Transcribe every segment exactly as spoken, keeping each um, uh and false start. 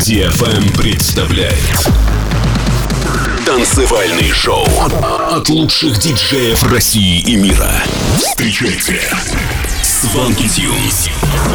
ди эф эм представляет танцевальный шоу от лучших диджеев России и мира. Встречайте Swanky Tunes.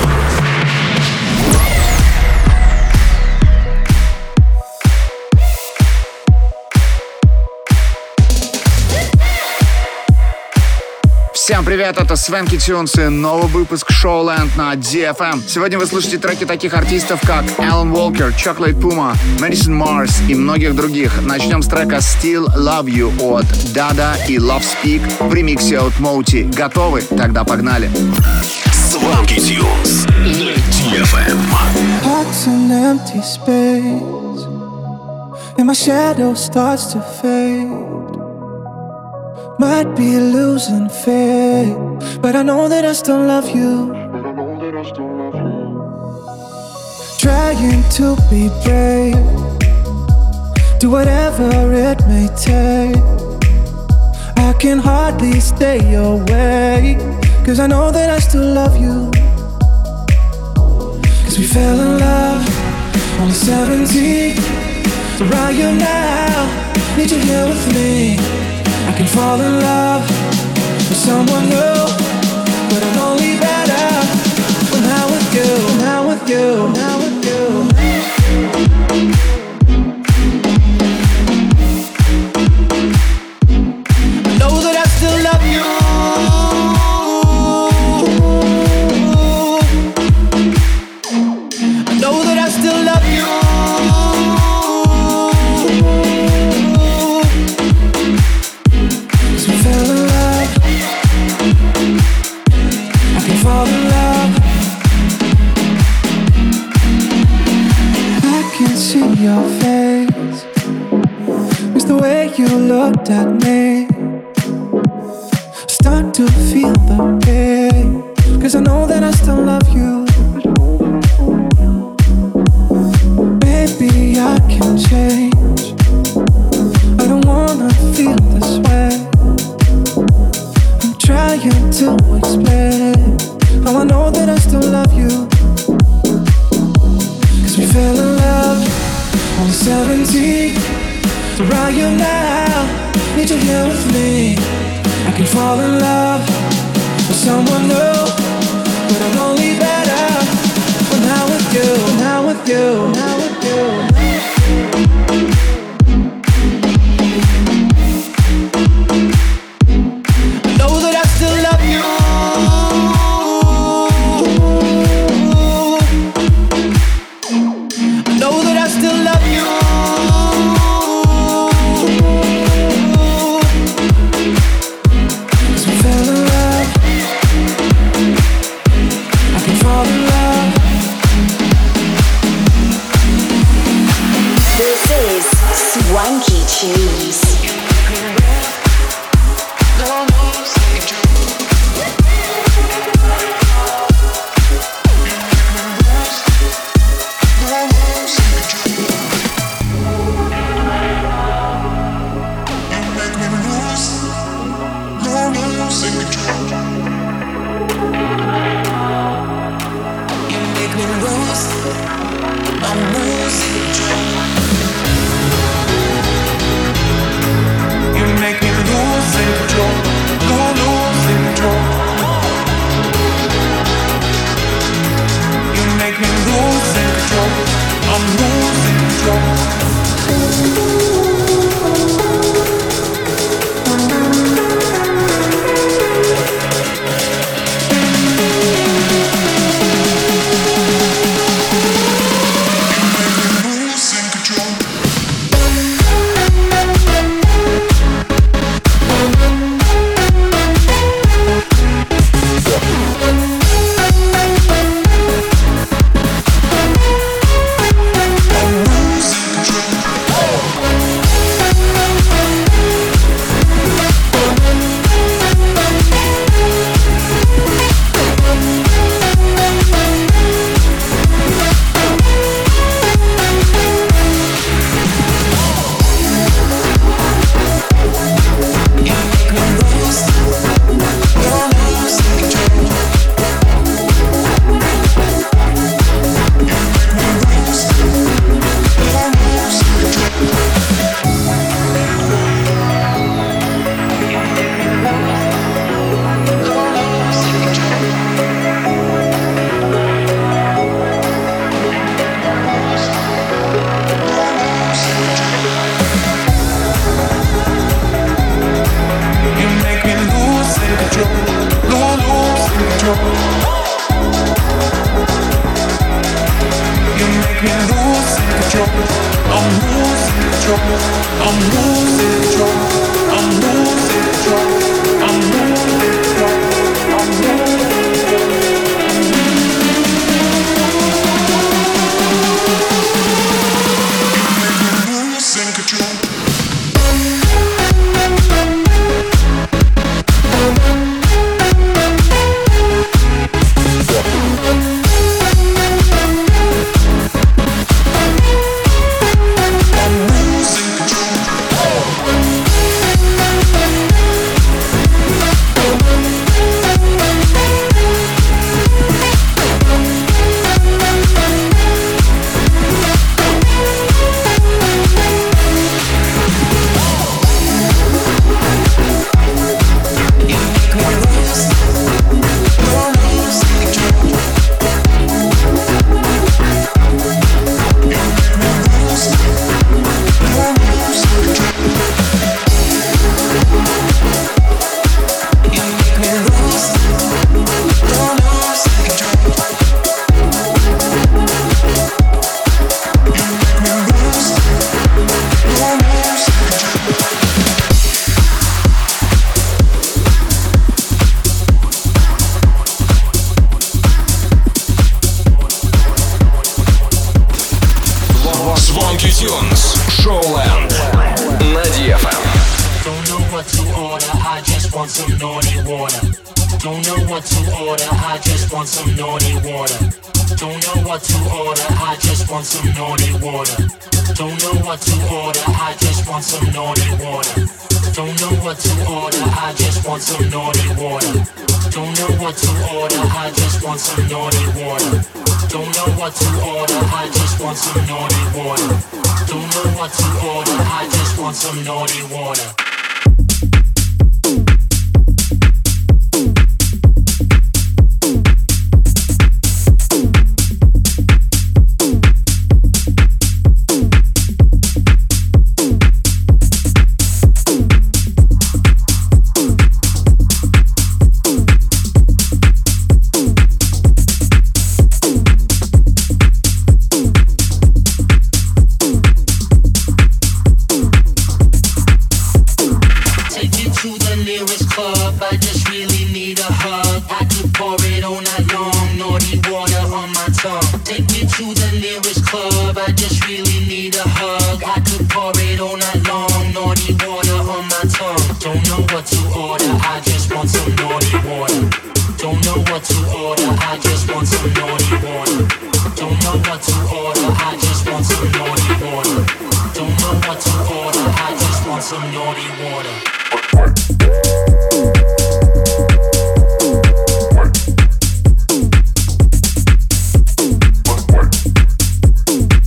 Всем привет, это Swanky Tunes и новый выпуск Showland на ди эф эм. Сегодня вы слышите треки таких артистов, как Alan Walker, Chocolate Puma, Madison Mars и многих других. Начнем с трека Still Love You от Dada и Love Speak в ремиксе от Moti. Готовы? Тогда погнали. Swanky Tunes на ди эф эм. Heart's an empty space and my shadow starts to fade. Might be losing faith, but I know that I still love you. Trying to be brave, do whatever it may take. I can hardly stay away, cause I know that I still love you. Cause we fell in love, only seventeen. So right here now, need you here with me. I can fall in love with someone new, but I'm only better when I'm with you, now with you, now with you. I know that I still love you. I know that I still love you. Fall in love. I can see your face. It's the way you looked at me. Start to feel the pain, cause I know that I still love you. Baby, I can change. I don't wanna feel this way. I'm trying to explain how I know that I still love you. Cause we fell in love, only seventeen. So right here now, need you here with me. I can fall in love with someone new, but I'm only better when I'm with you, now with you, now with you. I know that I still love you. Swanky Tunes. You me losing control. I'm losing control. I'm losing control. I'm losing control. I'm losing control. I'm losing control. What?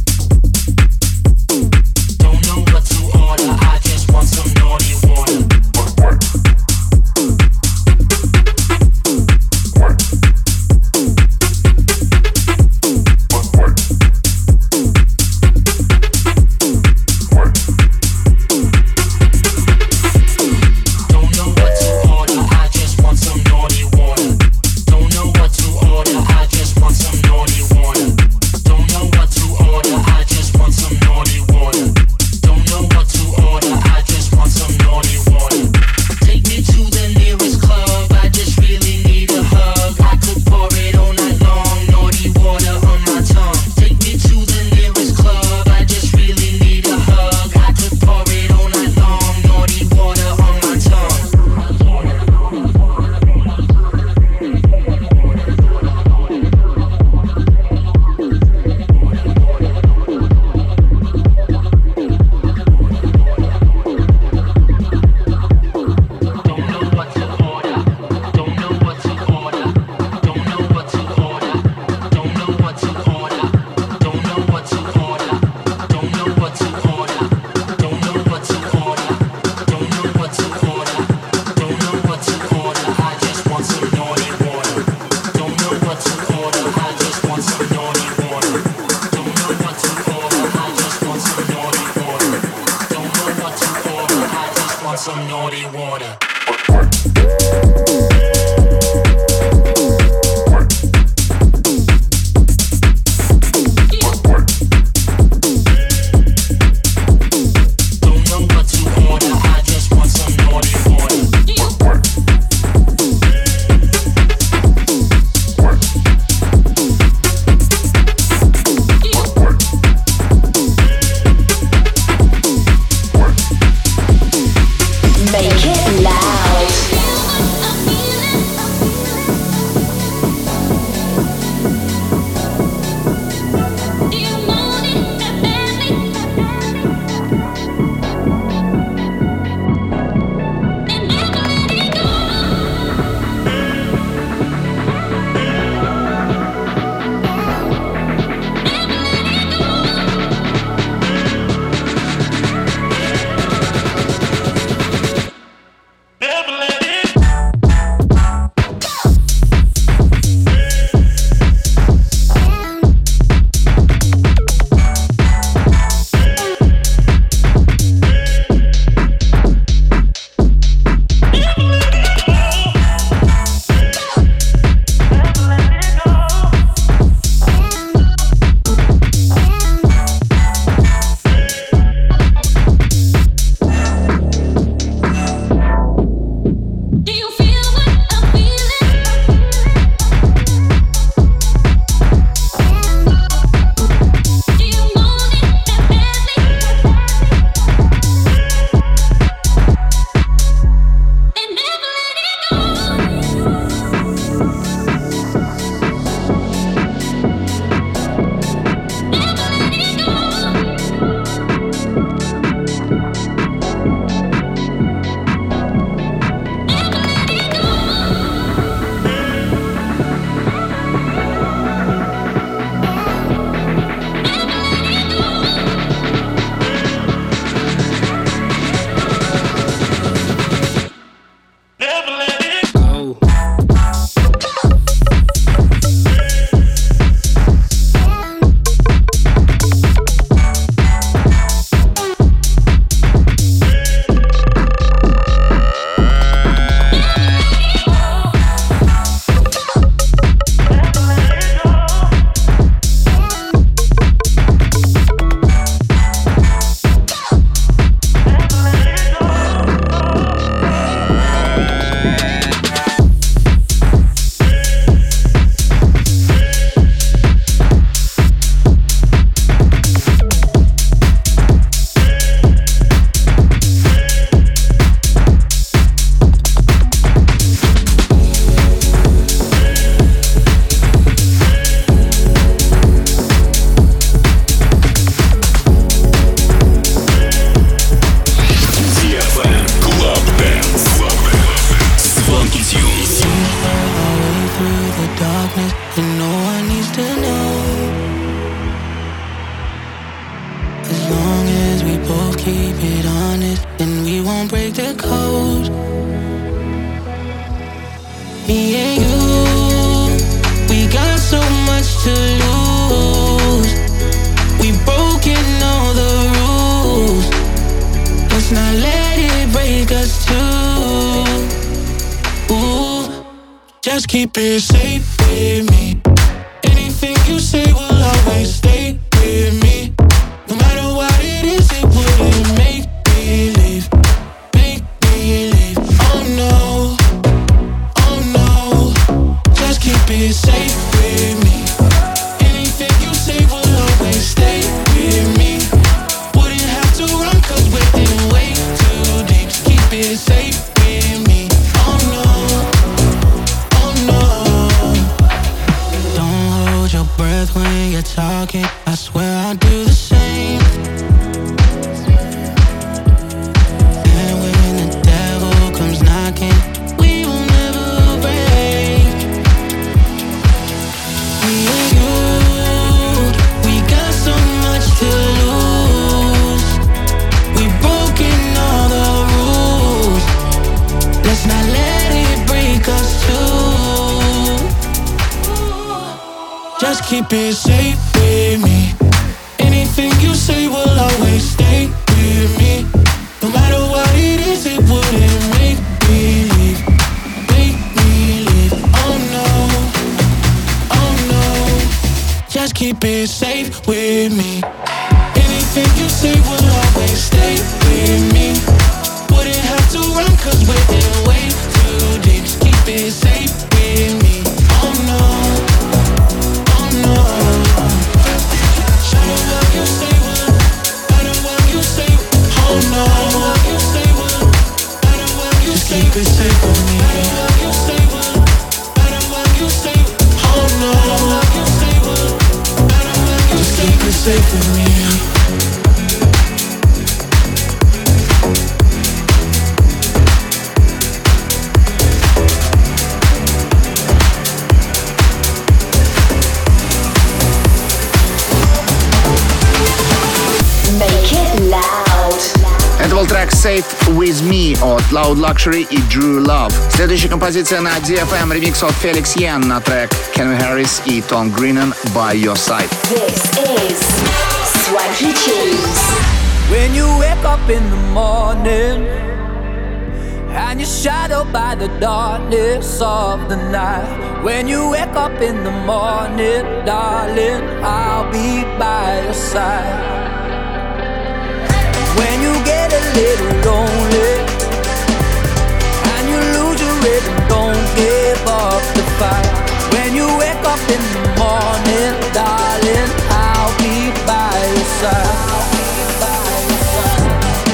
keep it safe with me. Anything you say will always stay with me. No matter what it is, it wouldn't make me leave. Make me leave. Oh no, oh no. Just keep it safe with me. Anything you say will always stay with me. Wouldn't have to run cause we're in way too deep. Just keep it safe with me. Oh no, oh no. Don't hold your breath when you're talking. I swear I'll do the same. And when the devil comes knocking, we will never break. Me and you, we got so much to lose. We've broken all the rules. Let's not let it break us too. Just keep it safe with me. Anything you say will always stay with me. No matter what it is, it wouldn't make me leave. Make me leave. Oh no, oh no. Just keep it safe with me. Anything you say will always stay with me. Wouldn't have to run cause we're in way too deep. Just keep it safe with me. Oh no, oh no. Show me what you say will, matter what you say. Oh no, what you say will, matter what you say. Just keep it safe with me. Matter what you say will, matter what you say. Oh no, what you say will, matter what you say. Just keep it safe with me. Make it loud. Это был трек Safe With Me от Loud Luxury и Drew Love. Следующая композиция на ди эф эм, ремикс от Felix Yen на трек Calvin Harris и Tom Grennan By Your Side. This is Swanky Tunes. When you wake up in the morning and you're shadowed by the darkness of the night. When you wake up in the morning, darling, I'll be by your side. When you get a little lonely and you lose your rhythm, don't give up the fight. When you wake up in the morning, darling, I'll be by your side. I'll be by your side.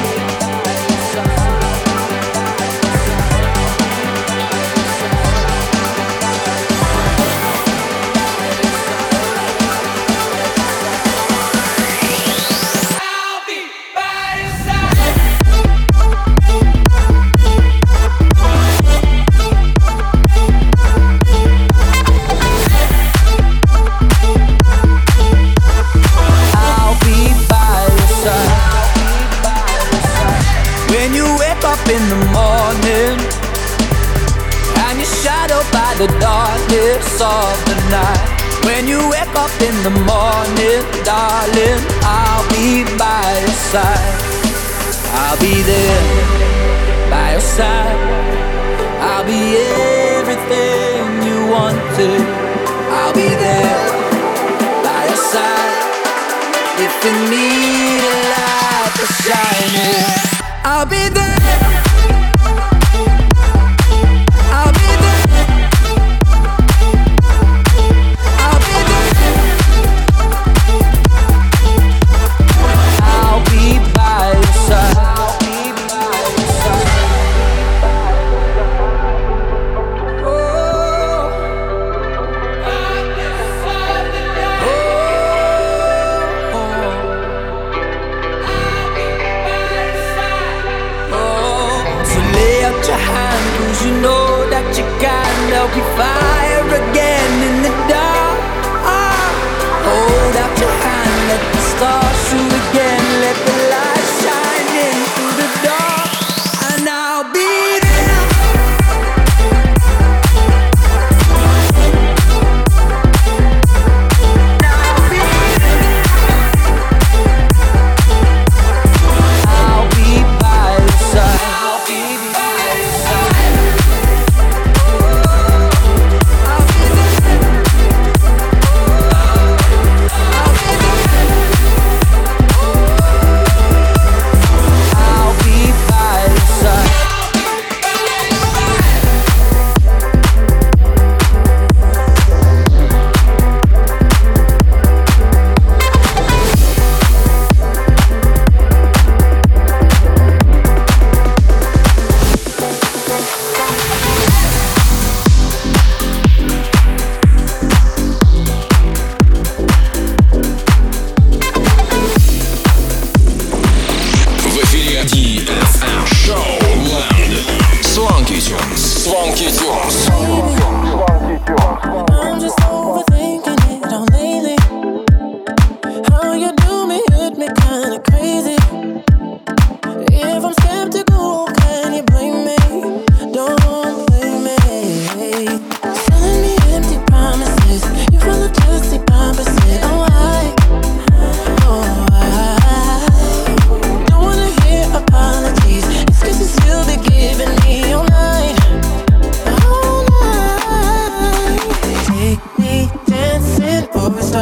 In the morning and you're shadowed by the darkness of the night. When you wake up in the morning, darling, I'll be by your side. I'll be there by your side. I'll be everything you wanted. I'll be there by your side. If you need a light to shine in, I'll be there. Oh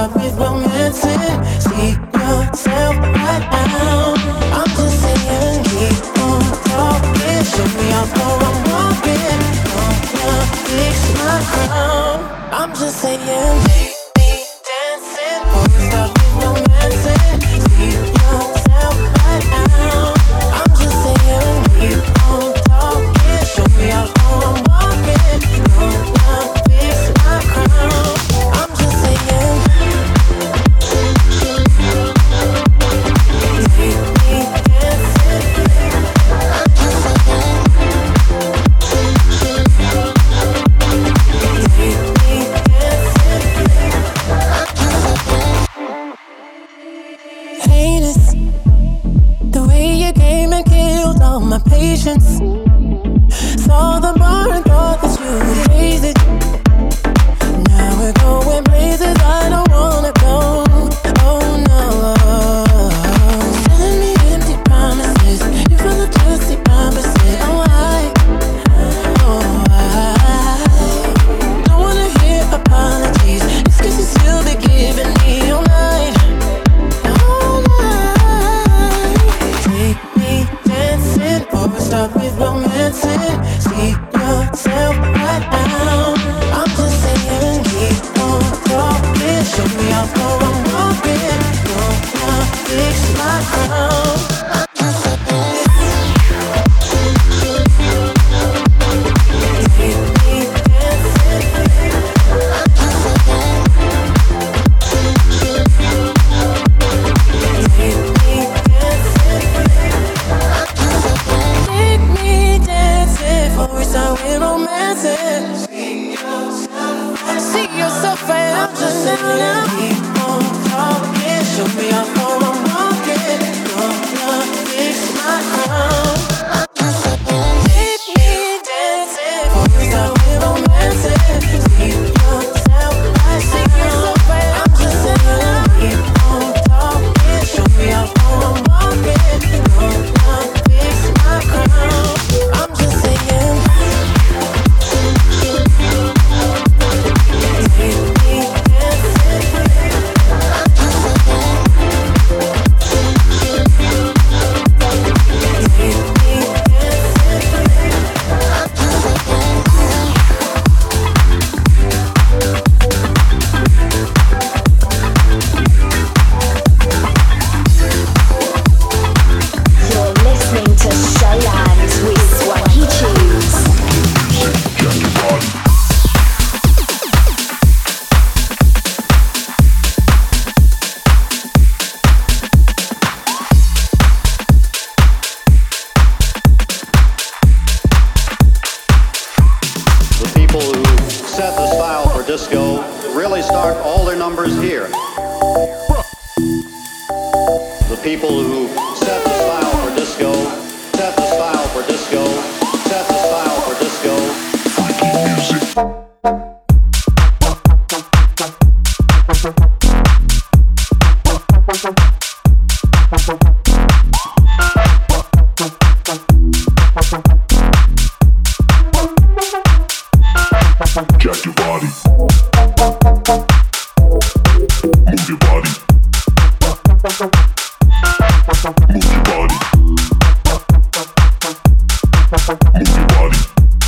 stop with romancing. See yourself right now. I'm just saying, keep on talking. Show me how far I'm walking. Gonna fix my crown. I'm just saying, baby, dancing. Before we stop with romancing. See yourself right now. I'm just saying, keep on talking. Show me how far I'm walking. Gonna fix my crown. I'm just saying, take me dancing. I'm just saying, take me dancing. I'm just saying, heinous, the way you came and killed all my patience. Saw the bar and thought that you would raise it. Now we're going places I don't wanna go. Oh no. Telling me empty promises. You feel the just the opposite. Oh I, oh I don't wanna hear apologies. Excuses you'll be giving me all night. All night. Take me dancing. Before we start with romancing. See yourself right now. I'm just saying, keep on talking. Show me how far I'm walking. Gonna fix my crown. I'm just saying, take me dancing. I'm just saying, take me dancing. I'm just saying, take me dancing. Before we start with romancing. See yourself right. I'm just saying, keep on talking. Show me how far I'm walking. Gonna fix my crown. I'm just saying, take me dancing. Before we start with romancing. See yourself right. See yourself right. I'm just saying, keep on talking. Show me how far I'm walking. Gonna fix my crown. I'm just saying, take me dancing. I'm just saying, take me dancing. I'm just saying. You're listening to Showland with Swanky Tunes. The people who set the style for disco really start all their numbers here. The people who set the style for disco, set the style for disco, set the style for disco. Freaky music. Jack your body. Move your body. Move your body. Move your body.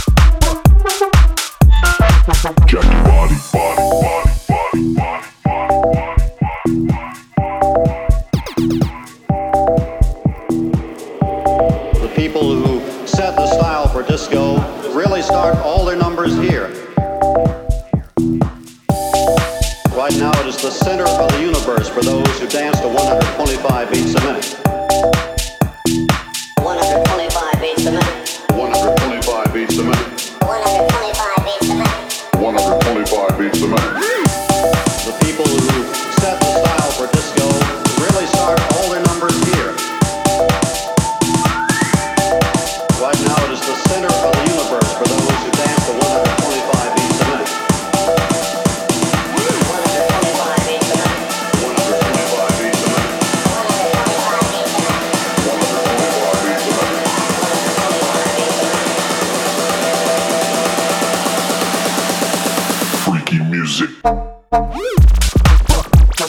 Jack your body, body, body, body, body, body, body. The people who set the style for disco really start all their numbers here. Right now it is the center of the universe for those who dance to one hundred twenty-five beats a minute. one hundred twenty-five beats a minute. one hundred twenty-five beats a minute. one hundred twenty-five beats a minute. one hundred twenty-five beats a minute. The people who set the style for disco really start all their numbers here. Right now it is the center of the universe for those who dance to one hundred twenty-five beats a minute. one hundred twenty-five beats a minute. one hundred twenty-five beats a minute. one hundred twenty-five beats a minute. one hundred twenty-five beats a minute. Freaky music.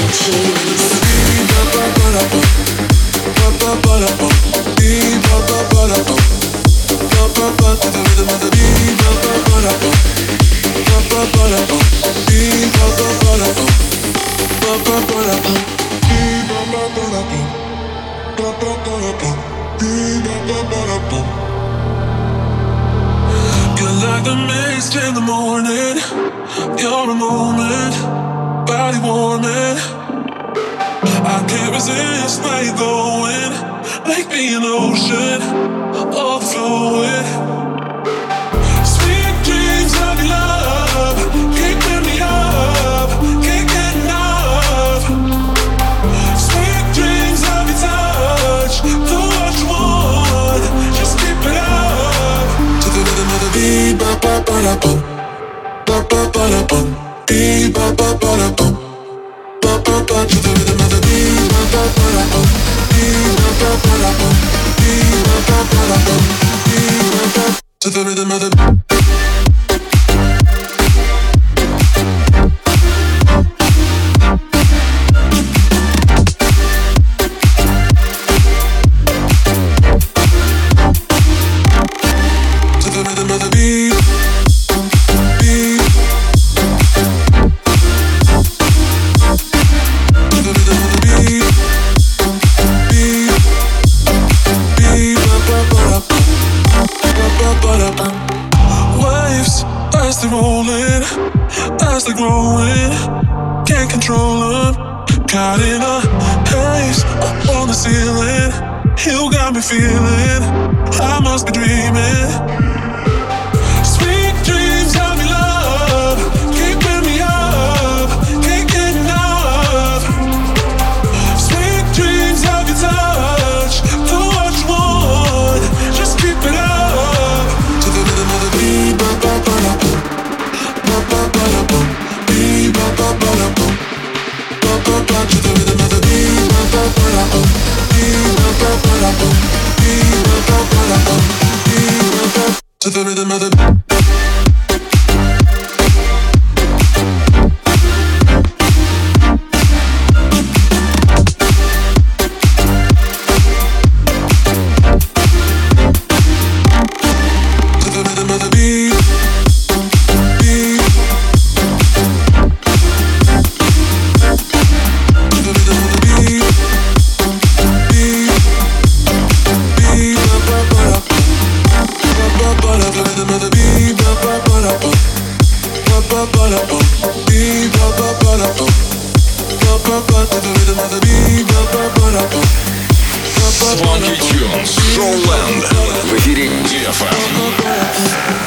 To the rhythm of the feeling I must be dreaming. Sweet dreams of your love, keeping me up, can't get enough. Sweet dreams of your touch, do what you want, just keep it up. To the rhythm of the beat, ba ba ba da boom, ba ba ba da boom, beat ba ba ba da boom, ba ba ba. To the rhythm of the beat, ba ba ba da boom, beat ba ba ba da boom. To the rhythm of the Funky Tunes, Showland в эфире ди эф эм.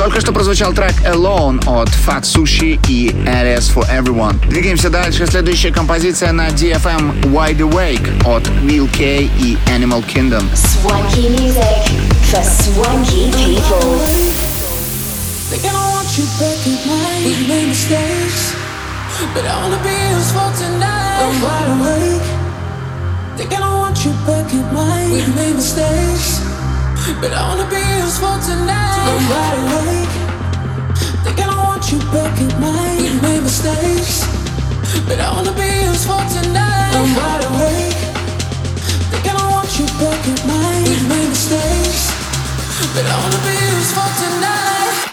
Только что прозвучал трек Alone от Fat Sushi и Alias for Everyone. Двигаемся дальше. Следующая композиция на ди эф эм Wide Awake от Will K и Animal Kingdom. Swanky music for swanky people. Think I don't want you back in mind. We made mistakes, but I wanna be yours for tonight. I'm wide awake. Think I don't want you back in mind. We made mistakes, but I wanna be yours for tonight. I'm wide awake. Think I don't want you back in mind. We made mistakes, but I wanna be yours for tonight. I'm wide awake. Think I don't want you back in mind. We made mistakes, but I wanna be yours for tonight.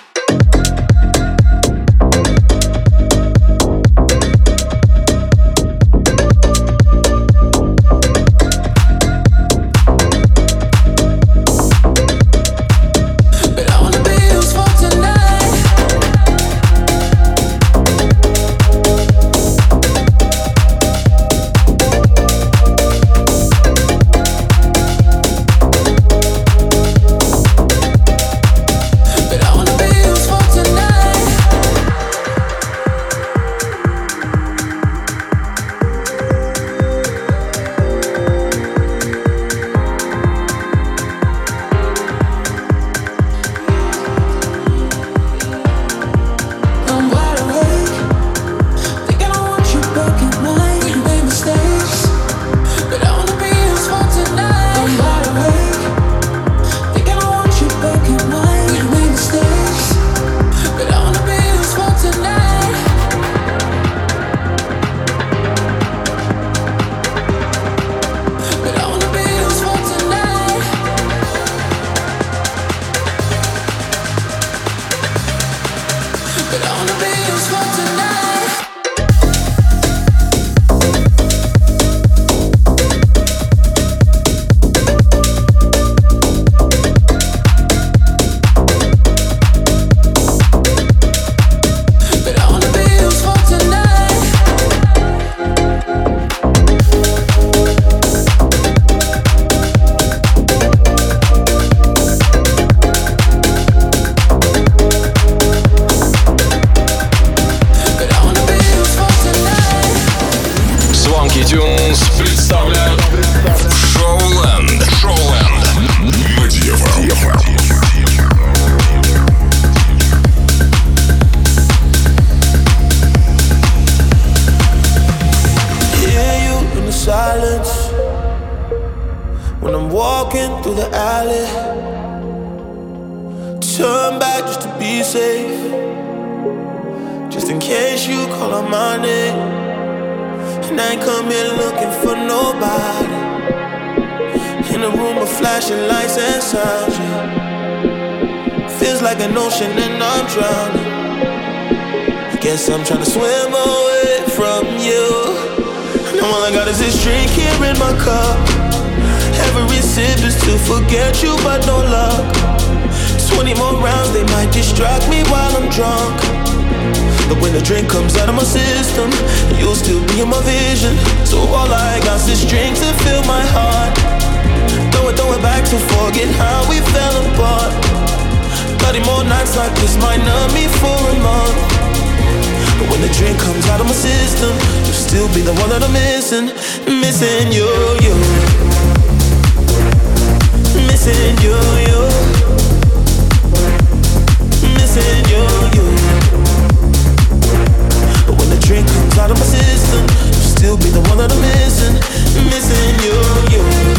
I'm trying to swim away from you. Now all I got is this drink here in my cup. Every sip is to forget you, but no luck. Twenty more rounds, they might distract me while I'm drunk. But when the drink comes out of my system, you'll still be in my vision. So all I got is this drink to fill my heart. Throw it, throw it back to forget how we fell apart. Thirty more nights like this might numb me for a month. But when the drink comes out of my system, you'll still be the one that I'm missing. Missing you, you. Missing you, you. Missing you, you. But when the drink comes out of my system, you'll still be the one that I'm missing. Missing you, you.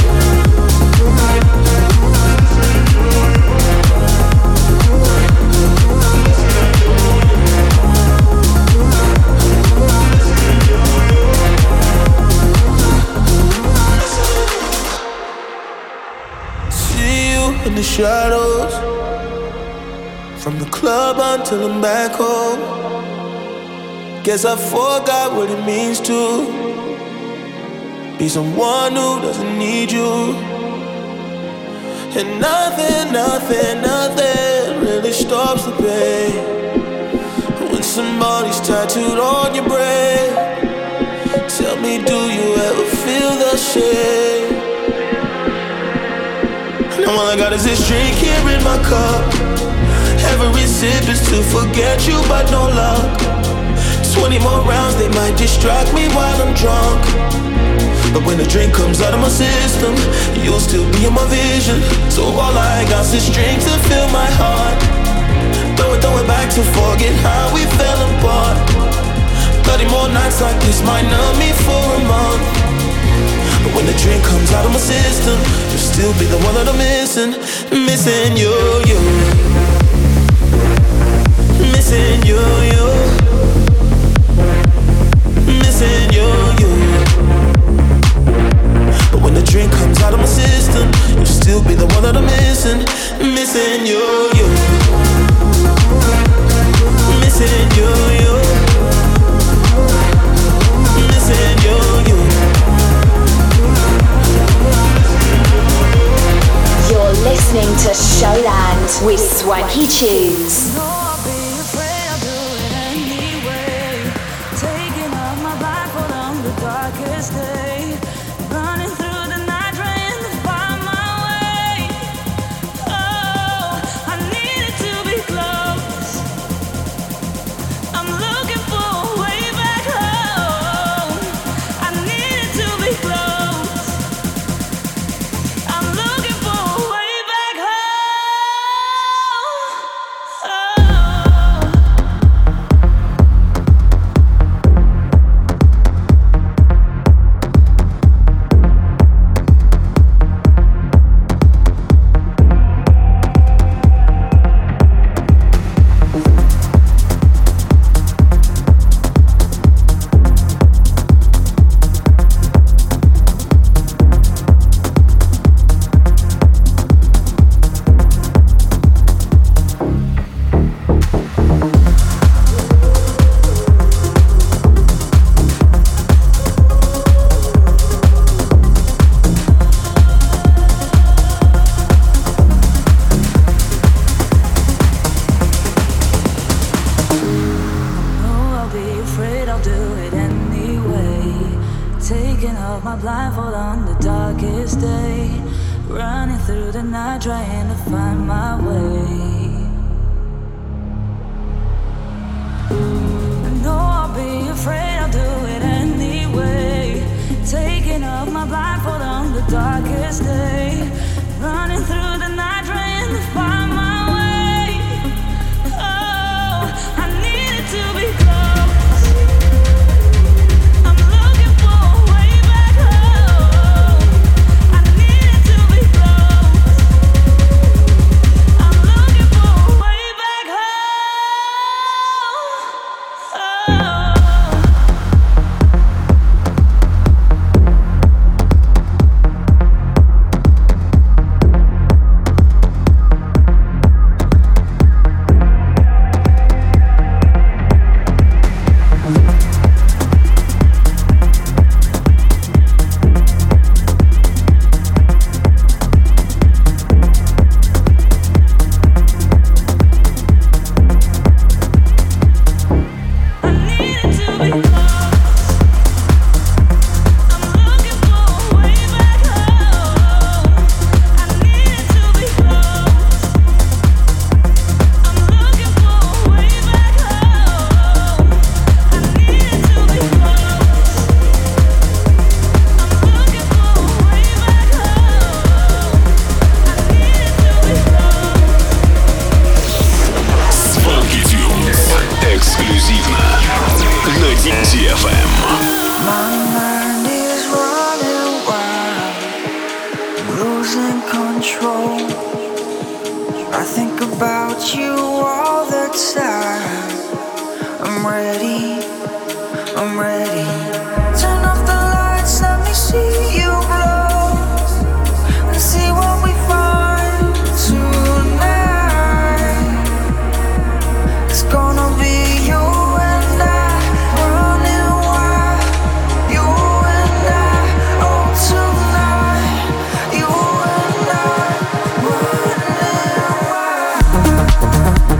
In the shadows, from the club until I'm back home. Guess I forgot what it means to be someone who doesn't need you. And nothing, nothing, nothing really stops the pain when somebody's tattooed on your brain. Tell me, do you ever feel the same? Now all I got is this drink here in my cup. Every sip is to forget you, but no luck. Twenty more rounds, they might distract me while I'm drunk. But when the drink comes out of my system, you'll still be in my vision. So all I got is strength to fill my heart. Throw it, throw it back to forget how we fell apart. Thirty more nights like this might numb me for a month. But when the drink comes out of my system, you'll still be the one that I'm missing. Missing you, you. Missing you, you. Missing you, you. But when the drink comes out of my system, you'll still be the one that I'm missing. Missing you, you. Missing you, you. Missing you, you. You're listening to Showland with Swanky Tunes.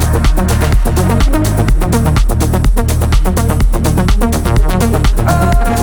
Oh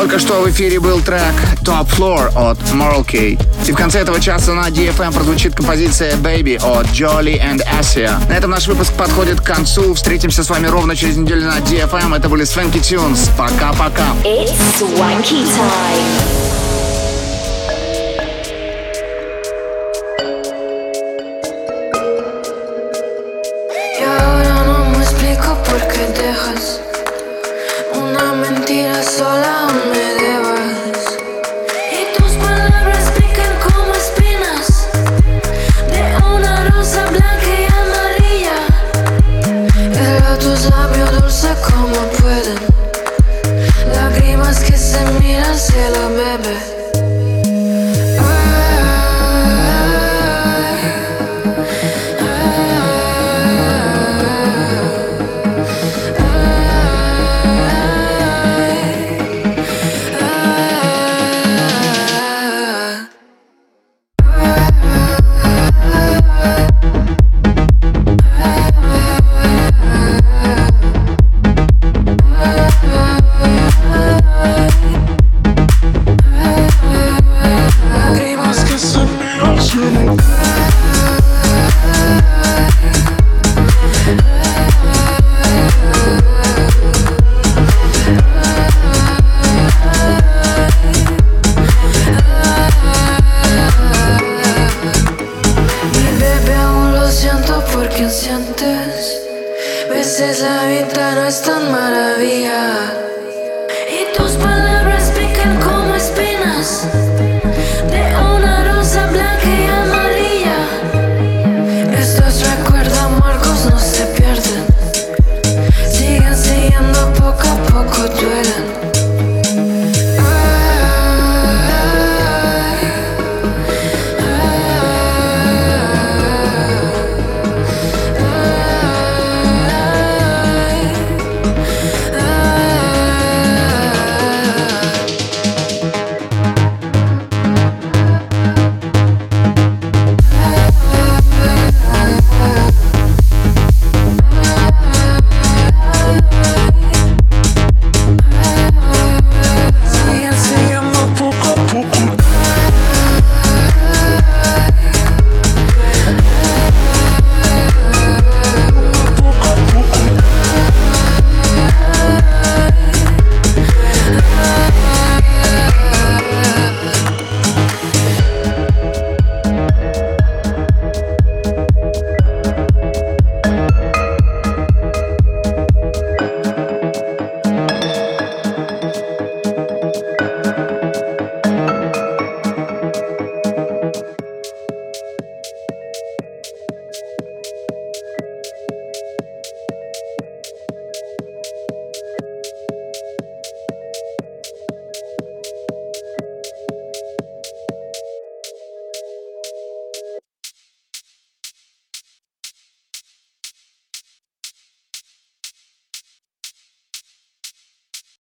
Только что в эфире был трек Top Floor от Moral Key. И в конце этого часа на ди эф эм прозвучит композиция Baby от Jolly and Asia. На этом наш выпуск подходит к концу. Встретимся с вами ровно через неделю на ди эф эм. Это были Swanky Tunes. Пока-пока. It's Swanky time. Sola me debas y tus palabras pican como espinas de una rosa blanca y amarilla. Pero tus labios dulces como pueden, lágrimas que se miran cielo, bebé. Sientes, veces la vida no es tan maravilla.